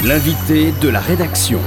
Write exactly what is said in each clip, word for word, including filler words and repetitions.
L'invité de la rédaction.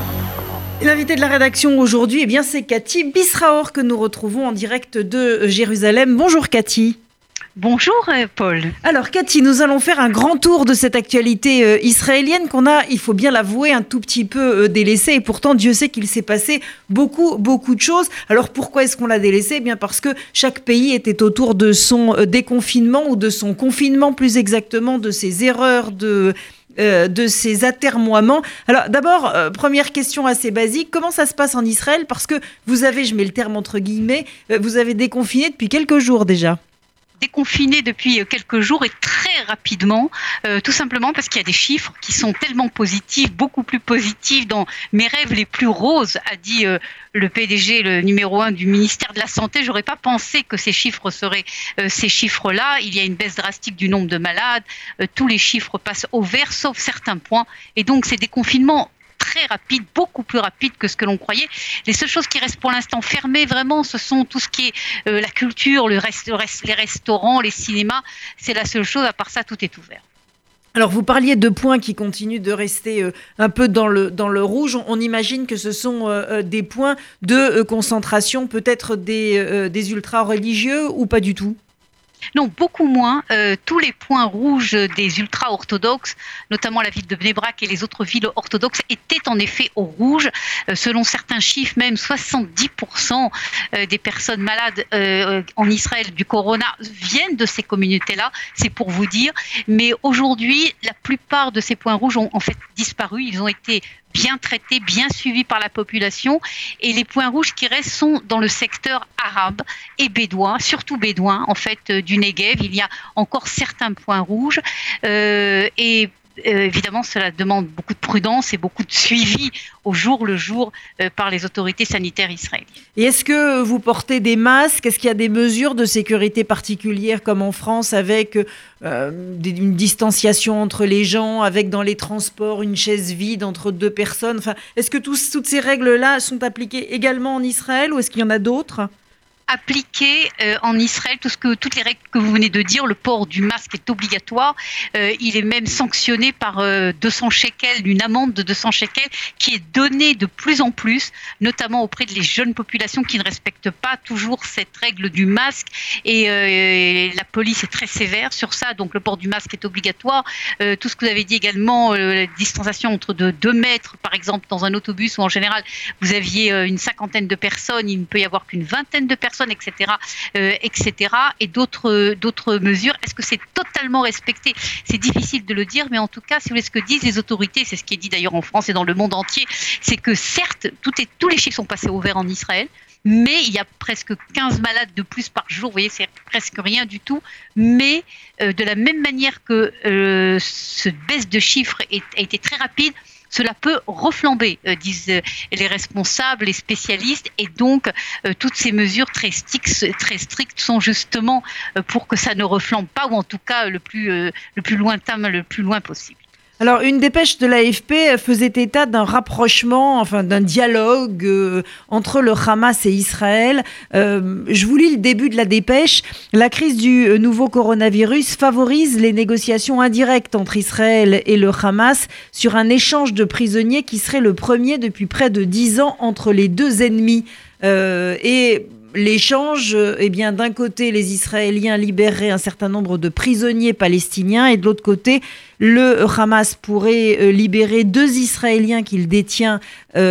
L'invité de la rédaction aujourd'hui, eh bien, c'est Cathy Bisraor que nous retrouvons en direct de Jérusalem. Bonjour Cathy. Bonjour Paul. Alors Cathy, nous allons faire un grand tour de cette actualité euh, israélienne qu'on a, il faut bien l'avouer, un tout petit peu euh, délaissée. Et pourtant, Dieu sait qu'il s'est passé beaucoup, beaucoup de choses. Alors pourquoi est-ce qu'on l'a délaissée ? Eh bien parce que chaque pays était autour de son euh, déconfinement ou de son confinement, plus exactement, de ses erreurs, de... Euh, de ces atermoiements. Alors d'abord, euh, première question assez basique, comment ça se passe en Israël ? Parce que vous avez, je mets le terme entre guillemets, euh, vous avez déconfiné depuis quelques jours déjà. Déconfiné depuis quelques jours et très rapidement, euh, tout simplement parce qu'il y a des chiffres qui sont tellement positifs, beaucoup plus positifs dans mes rêves les plus roses, a dit euh, le P D G, le numéro un du ministère de la Santé. J'aurais pas pensé que ces chiffres seraient euh, ces chiffres-là. Il y a une baisse drastique du nombre de malades, euh, tous les chiffres passent au vert, sauf certains points. Et donc ces déconfinements très rapide, beaucoup plus rapide que ce que l'on croyait. Les seules choses qui restent pour l'instant fermées, vraiment, ce sont tout ce qui est euh, la culture, le reste, le reste, les restaurants, les cinémas. C'est la seule chose, à part ça, tout est ouvert. Alors, vous parliez de points qui continuent de rester euh, un peu dans le, dans le rouge. On, on imagine que ce sont euh, des points de euh, concentration, peut-être des, euh, des ultra-religieux ou pas du tout ? Non, beaucoup moins. Euh, tous les points rouges des ultra-orthodoxes, notamment la ville de Bnei Brak et les autres villes orthodoxes, étaient en effet au rouge. Euh, selon certains chiffres, même soixante-dix pour cent des personnes malades euh, en Israël du corona viennent de ces communautés-là. C'est pour vous dire. Mais aujourd'hui, la plupart de ces points rouges ont en fait disparu. Ils ont été bien traités, bien suivis par la population. Et les points rouges qui restent sont dans le secteur arabe et bédouin, surtout bédouin, en fait, euh, du Negev. Il y a encore certains points rouges. Euh, et euh, évidemment, cela demande beaucoup de prudence et beaucoup de suivi au jour le jour euh, par les autorités sanitaires israéliennes. Et est-ce que vous portez des masques ? Est-ce qu'il y a des mesures de sécurité particulières comme en France avec euh, une distanciation entre les gens, avec dans les transports une chaise vide entre deux personnes ? Enfin, est-ce que tous, toutes ces règles-là sont appliquées également en Israël ou est-ce qu'il y en a d'autres ? Appliqué euh, en Israël, tout ce que, toutes les règles que vous venez de dire, le port du masque est obligatoire. Euh, il est même sanctionné par euh, deux cents shekels, une amende de deux cents shekels qui est donnée de plus en plus, notamment auprès de les jeunes populations qui ne respectent pas toujours cette règle du masque. Et, euh, et la police est très sévère sur ça, donc le port du masque est obligatoire. Euh, tout ce que vous avez dit également, euh, la distanciation entre de deux mètres, par exemple, dans un autobus où en général vous aviez euh, une cinquantaine de personnes, il ne peut y avoir qu'une vingtaine de personnes, et cetera, euh, et cetera, et d'autres, d'autres mesures. Est-ce que c'est totalement respecté ? C'est difficile de le dire, mais en tout cas, si vous voulez, ce que disent les autorités, c'est ce qui est dit d'ailleurs en France et dans le monde entier, c'est que certes, tout est, tous les chiffres sont passés au vert en Israël, mais il y a presque quinze malades de plus par jour, vous voyez, c'est presque rien du tout, mais euh, de la même manière que euh, cette baisse de chiffres est, a été très rapide, cela peut reflamber, euh, disent euh, les responsables, les spécialistes, et donc euh, toutes ces mesures très strictes, très strictes sont justement euh, pour que ça ne reflambe pas, ou en tout cas le plus, euh, le plus lointain, le plus loin possible. Alors, une dépêche de l'A F P faisait état d'un rapprochement, enfin d'un dialogue euh, entre le Hamas et Israël. Euh, je vous lis le début de la dépêche. La crise du nouveau coronavirus favorise les négociations indirectes entre Israël et le Hamas sur un échange de prisonniers qui serait le premier depuis près de dix ans entre les deux ennemis. Euh, et... L'échange, eh bien, d'un côté, les Israéliens libéreraient un certain nombre de prisonniers palestiniens et de l'autre côté, le Hamas pourrait libérer deux Israéliens qu'il détient,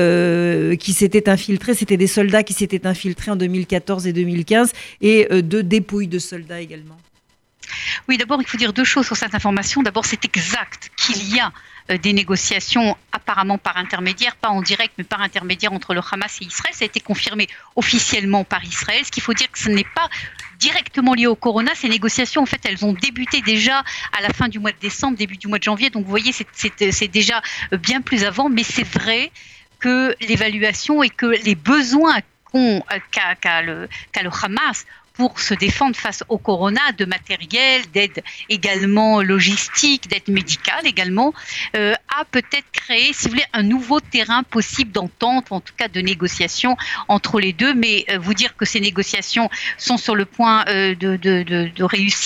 euh, qui s'étaient infiltrés. C'était des soldats qui s'étaient infiltrés en deux mille quatorze et deux mille quinze et euh, deux dépouilles de soldats également. Oui, d'abord, il faut dire deux choses sur cette information. D'abord, c'est exact qu'il y a des négociations apparemment par intermédiaire, pas en direct, mais par intermédiaire entre le Hamas et Israël. Ça a été confirmé officiellement par Israël. Ce qu'il faut dire que ce n'est pas directement lié au corona. Ces négociations, en fait, elles ont débuté déjà à la fin du mois de décembre, début du mois de janvier. Donc, vous voyez, c'est, c'est, c'est déjà bien plus avant. Mais c'est vrai que l'évaluation et que les besoins qu'ont, qu'a, qu'a, le, qu'a le Hamas pour se défendre face au corona, de matériel, d'aide également logistique, d'aide médicale également, euh, a peut-être créé, si vous voulez, un nouveau terrain possible d'entente, en tout cas de négociation entre les deux. Mais euh, vous dire que ces négociations sont sur le point euh, de, de, de, de réussir,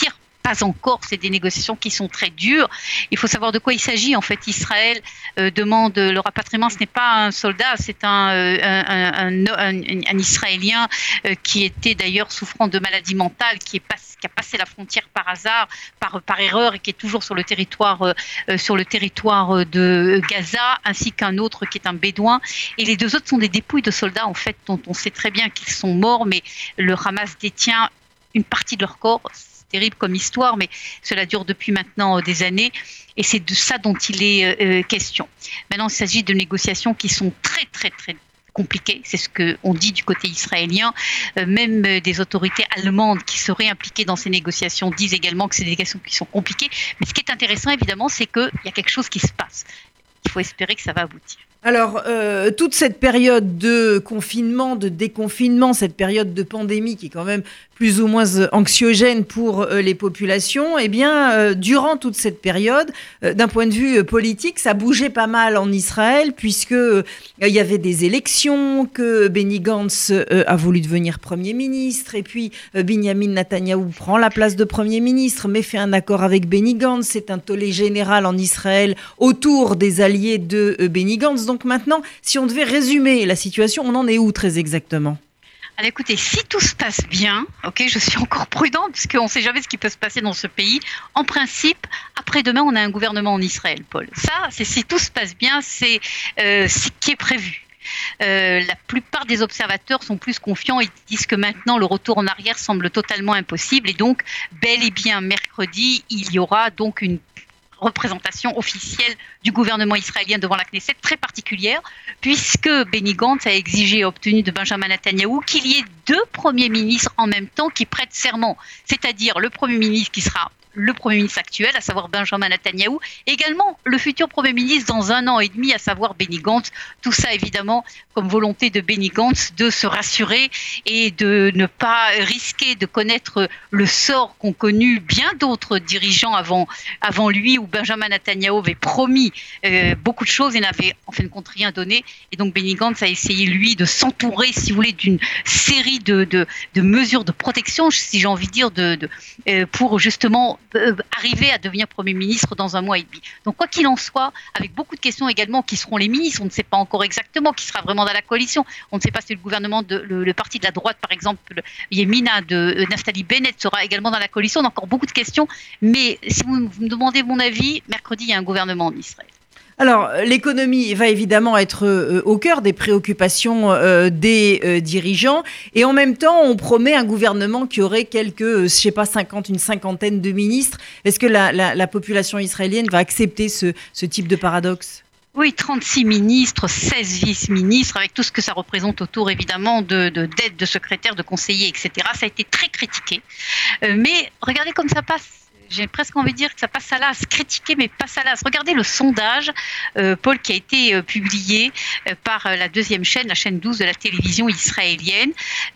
pas encore, c'est des négociations qui sont très dures. Il faut savoir de quoi il s'agit. En fait, Israël euh, demande le rapatriement. Ce n'est pas un soldat, c'est un, euh, un, un, un, un Israélien euh, qui était d'ailleurs souffrant de maladie mentale, qui, est pas, qui a passé la frontière par hasard, par, par erreur, et qui est toujours sur le territoire, euh, sur le territoire de Gaza, ainsi qu'un autre qui est un bédouin. Et les deux autres sont des dépouilles de soldats, en fait, dont on sait très bien qu'ils sont morts, mais le Hamas détient une partie de leur corps. Terrible comme histoire, mais cela dure depuis maintenant des années et c'est de ça dont il est euh, question. Maintenant, il s'agit de négociations qui sont très, très, très compliquées. C'est ce qu'on dit du côté israélien. Euh, même des autorités allemandes qui seraient impliquées dans ces négociations disent également que c'est des négociations qui sont compliquées. Mais ce qui est intéressant, évidemment, c'est qu'il y a quelque chose qui se passe. Il faut espérer que ça va aboutir. Alors, euh, toute cette période de confinement, de déconfinement, cette période de pandémie qui est quand même plus ou moins anxiogène pour euh, les populations, eh bien, euh, durant toute cette période, euh, d'un point de vue euh, politique, ça bougeait pas mal en Israël, puisque euh, il y avait des élections, que Benny Gantz euh, a voulu devenir Premier ministre, et puis euh, Binyamin Netanyahou prend la place de Premier ministre, mais fait un accord avec Benny Gantz. C'est un tollé général en Israël autour des alliés de euh, Benny Gantz. Donc maintenant, si on devait résumer la situation, on en est où très exactement ? Alors écoutez, si tout se passe bien, ok, je suis encore prudente parce qu'on ne sait jamais ce qui peut se passer dans ce pays. En principe, après-demain, on a un gouvernement en Israël, Paul. Ça, c'est si tout se passe bien, c'est euh, ce qui est prévu. Euh, la plupart des observateurs sont plus confiants. Ils disent que maintenant, le retour en arrière semble totalement impossible. Et donc, bel et bien, mercredi, il y aura donc une représentation officielle du gouvernement israélien devant la Knesset très particulière, puisque Benny Gantz a exigé et obtenu de Benjamin Netanyahou qu'il y ait deux premiers ministres en même temps qui prêtent serment, c'est-à-dire le premier ministre qui sera le Premier ministre actuel, à savoir Benjamin Netanyahou, également le futur Premier ministre dans un an et demi, à savoir Benny Gantz. Tout ça, évidemment, comme volonté de Benny Gantz de se rassurer et de ne pas risquer de connaître le sort qu'ont connu bien d'autres dirigeants avant, avant lui, où Benjamin Netanyahou avait promis euh, beaucoup de choses et n'avait en fin de compte rien donné. Et donc Benny Gantz a essayé, lui, de s'entourer, si vous voulez, d'une série de, de, de mesures de protection, si j'ai envie de dire, de, de, euh, pour justement arriver à devenir Premier ministre dans un mois et demi. Donc quoi qu'il en soit, avec beaucoup de questions également, qui seront les ministres, on ne sait pas encore exactement qui sera vraiment dans la coalition, on ne sait pas si le gouvernement, de, le, le parti de la droite par exemple, le Yemina de Naftali Bennett sera également dans la coalition, on a encore beaucoup de questions, mais si vous, vous me demandez mon avis, mercredi il y a un gouvernement en Israël. Alors, l'économie va évidemment être euh, au cœur des préoccupations euh, des euh, dirigeants. Et en même temps, on promet un gouvernement qui aurait quelques, euh, je sais pas, cinquante, une cinquantaine de ministres. Est-ce que la, la, la population israélienne va accepter ce, ce type de paradoxe ? Oui, trente-six ministres, seize vice-ministres, avec tout ce que ça représente autour, évidemment, de, de d'aides, de secrétaires, de conseillers, et cetera. Ça a été très critiqué. Euh, mais regardez comme ça passe. J'ai presque envie de dire que ça passe à l'as, critiquer mais passe à l'as. Regardez le sondage, euh, Paul, qui a été euh, publié euh, par euh, la deuxième chaîne, la chaîne douze de la télévision israélienne.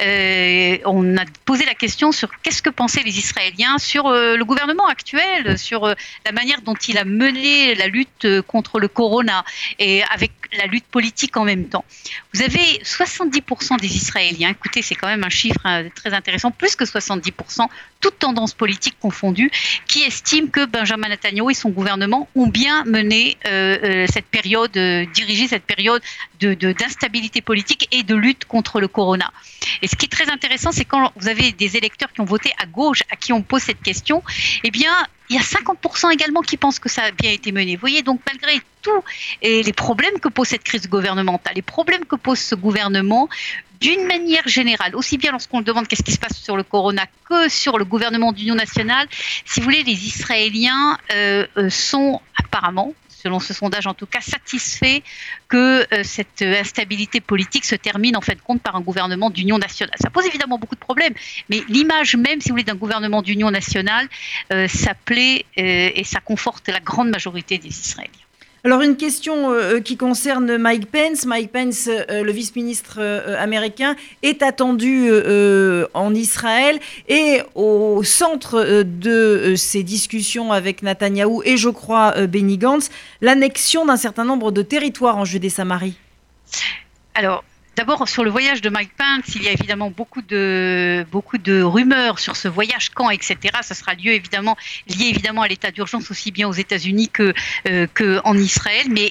Euh, on a posé la question sur qu'est-ce que pensaient les Israéliens sur euh, le gouvernement actuel, sur euh, la manière dont il a mené la lutte euh, contre le corona et avec la lutte politique en même temps. Vous avez soixante-dix pour cent des Israéliens, écoutez, c'est quand même un chiffre hein, très intéressant, plus que soixante-dix pour cent, toutes tendances politiques confondues, qui estiment que Benjamin Netanyahou et son gouvernement ont bien mené euh, euh, cette période, euh, dirigé cette période de, de, d'instabilité politique et de lutte contre le corona. Et ce qui est très intéressant, c'est quand vous avez des électeurs qui ont voté à gauche, à qui on pose cette question, eh bien, il y a cinquante pour cent également qui pensent que ça a bien été mené. Vous voyez, donc malgré tout, et les problèmes que pose cette crise gouvernementale, les problèmes que pose ce gouvernement, d'une manière générale, aussi bien lorsqu'on demande qu'est-ce qui se passe sur le corona que sur le gouvernement d'union nationale, si vous voulez, les Israéliens euh, sont apparemment, selon ce sondage en tout cas, satisfaits que euh, cette instabilité politique se termine en fin de compte par un gouvernement d'union nationale. Ça pose évidemment beaucoup de problèmes, mais l'image même, si vous voulez, d'un gouvernement d'union nationale, euh, ça plaît euh, et ça conforte la grande majorité des Israéliens. Alors une question euh, qui concerne Mike Pence. Mike Pence, euh, le vice-ministre euh, américain, est attendu euh, en Israël et au centre euh, de euh, ces discussions avec Netanyahou et je crois euh, Benny Gantz, l'annexion d'un certain nombre de territoires en Judée-Samarie. Alors, D'abord, sur le voyage de Mike Pence, il y a évidemment beaucoup de, beaucoup de rumeurs sur ce voyage, quand, et cetera. Ça sera lieu, évidemment, lié évidemment à l'état d'urgence aussi bien aux États-Unis que, euh, qu'en Israël. Mais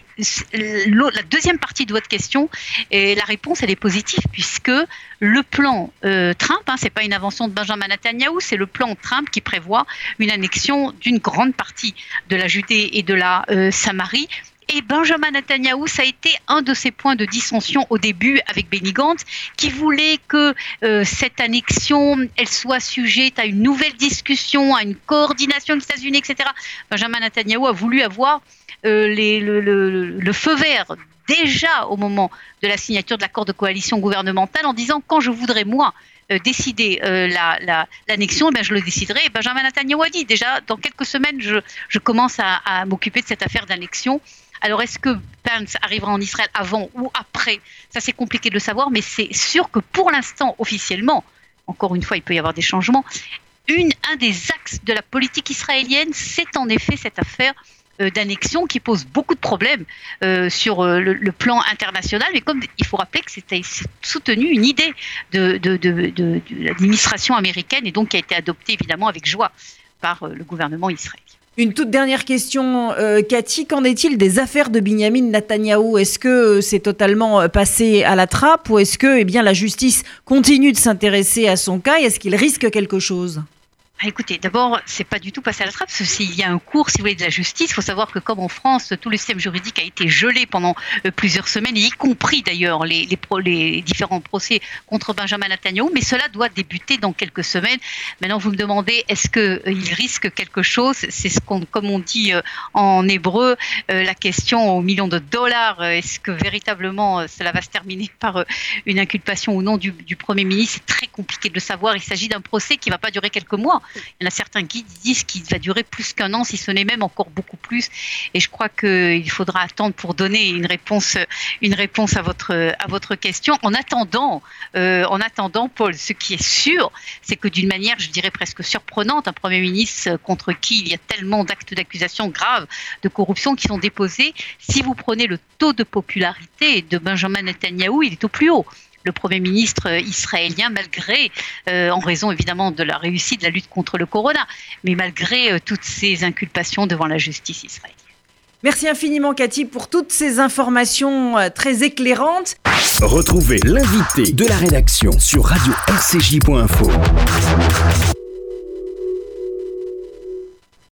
la deuxième partie de votre question, et la réponse, elle est positive, puisque le plan euh, Trump, hein, c'est pas une invention de Benjamin Netanyahou, c'est le plan Trump qui prévoit une annexion d'une grande partie de la Judée et de la euh, Samarie. Et Benjamin Netanyahou, ça a été un de ses points de dissension au début avec Benny Gantz, qui voulait que euh, cette annexion, elle soit sujette à une nouvelle discussion, à une coordination des États-Unis, et cetera. Benjamin Netanyahou a voulu avoir euh, les, le, le, le feu vert déjà au moment de la signature de l'accord de coalition gouvernementale en disant « quand je voudrais, moi, Euh, décider euh, la, la, l'annexion, eh bien, je le déciderai. Et Benjamin Netanyahou a dit déjà, dans quelques semaines, je, je commence à, à m'occuper de cette affaire d'annexion. Alors, est-ce que Pence arrivera en Israël avant ou après? Ça, c'est compliqué de le savoir, mais c'est sûr que pour l'instant, officiellement, encore une fois, il peut y avoir des changements, une, un des axes de la politique israélienne, c'est en effet cette affaire euh, d'annexion qui pose beaucoup de problèmes euh, sur euh, le, le plan international. Mais comme il faut rappeler que c'était soutenu une idée de, de, de, de, de l'administration américaine et donc qui a été adoptée évidemment avec joie par euh, le gouvernement israélien. Une toute dernière question, euh, Cathy, qu'en est-il des affaires de Binyamin Netanyahou? Est-ce que c'est totalement passé à la trappe ou est-ce que eh bien, la justice continue de s'intéresser à son cas et est-ce qu'il risque quelque chose? Ah, écoutez, d'abord, c'est pas du tout passé à la trappe, parce que s'il y a un cours, si vous voulez, de la justice, il faut savoir que comme en France, tout le système juridique a été gelé pendant euh, plusieurs semaines, y compris d'ailleurs les, les, pro, les différents procès contre Benjamin Netanyahou, mais cela doit débuter dans quelques semaines. Maintenant, vous me demandez, est-ce qu'il euh, risque quelque chose? C'est ce qu'on, comme on dit euh, en hébreu, euh, la question aux millions de dollars, euh, est-ce que véritablement euh, cela va se terminer par euh, une inculpation ou non du, du Premier ministre? C'est très compliqué de le savoir, il s'agit d'un procès qui ne va pas durer quelques mois. Il y en a certains qui disent qu'il va durer plus qu'un an, si ce n'est même encore beaucoup plus. Et je crois qu'il faudra attendre pour donner une réponse, une réponse à votre, à votre question. En attendant, euh, en attendant, Paul, ce qui est sûr, c'est que d'une manière, je dirais presque surprenante, un Premier ministre contre qui il y a tellement d'actes d'accusation graves de corruption qui sont déposés, si vous prenez le taux de popularité de Benjamin Netanyahou, il est au plus haut. Le Premier ministre israélien, malgré, euh, en raison évidemment de la réussite de la lutte contre le corona, mais malgré euh, toutes ces inculpations devant la justice israélienne. Merci infiniment Cathy pour toutes ces informations euh, très éclairantes. Retrouvez l'invité de la rédaction sur radio r c j point info.